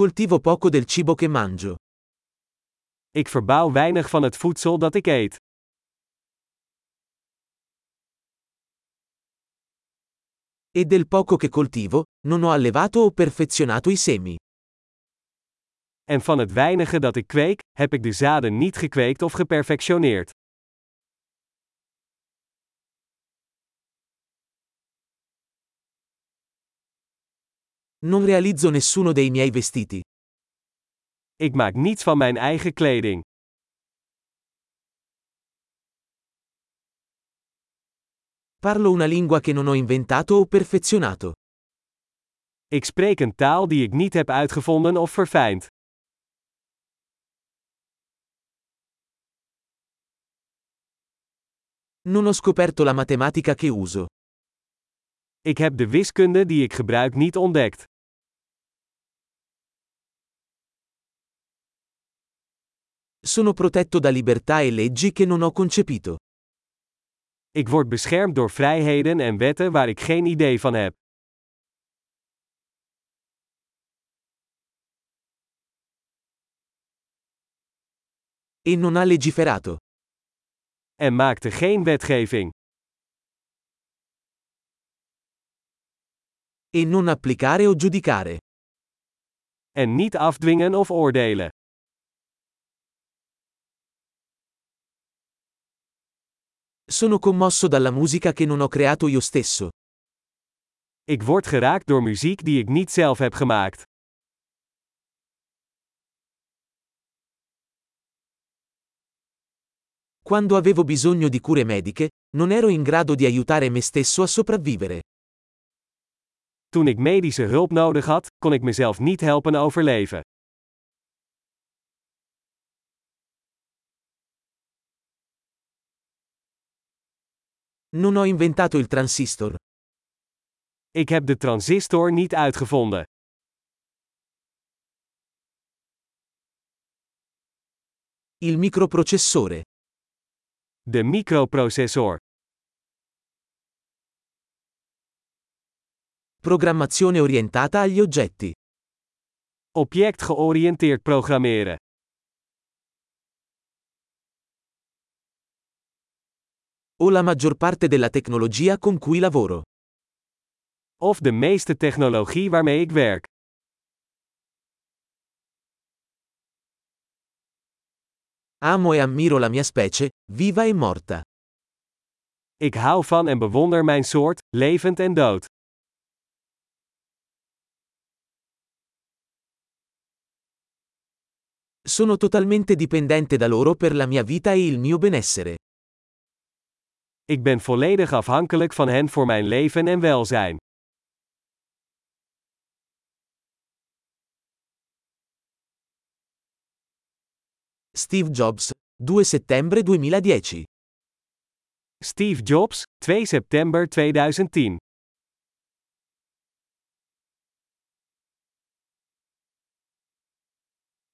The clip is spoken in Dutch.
coltivo poco del cibo che mangio. Ik verbouw weinig van het voedsel dat ik eet. E del poco che coltivo, non ho allevato o perfezionato i semi. En van het weinige dat ik kweek, heb ik de zaden niet gekweekt of geperfectioneerd. Non realizzo nessuno dei miei vestiti. Ik maak niets van mijn eigen kleding. Parlo una lingua che non ho inventato o perfezionato. Ik spreek een taal die ik niet heb uitgevonden of verfijnd. Non ho scoperto la matematica che uso. Ik heb de wiskunde die ik gebruik niet ontdekt. Sono protetto da libertà e leggi che non ho concepito. Ik word beschermd door vrijheden en wetten waar ik geen idee van heb. E non ha legiferato. En maakte geen wetgeving. E non applicare o giudicare. En niet afdwingen of oordelen. Sono commosso dalla musica che non ho creato io stesso. Ik word geraakt door muziek die ik niet zelf heb gemaakt. Quando avevo bisogno di cure mediche, non ero in grado di aiutare me stesso a sopravvivere. Toen ik medische hulp nodig had, kon ik mezelf niet helpen overleven. Non ho inventato il transistor. Ik heb de transistor niet uitgevonden. Il microprocessore. De microprocessor. Programmazione orientata agli oggetti. Object-georiënteerd programmeren. O la maggior parte della tecnologia con cui lavoro. Of de meeste technologie waarmee ik werk. Amo e ammiro la mia specie, viva e morta. Ik hou van en bewonder mijn soort, levend en dood. Sono totalmente dipendente da loro per la mia vita e il mio benessere. Ik ben volledig afhankelijk van hen voor mijn leven en welzijn. Steve Jobs, 2 settembre 2010. Steve Jobs, 2 september 2010.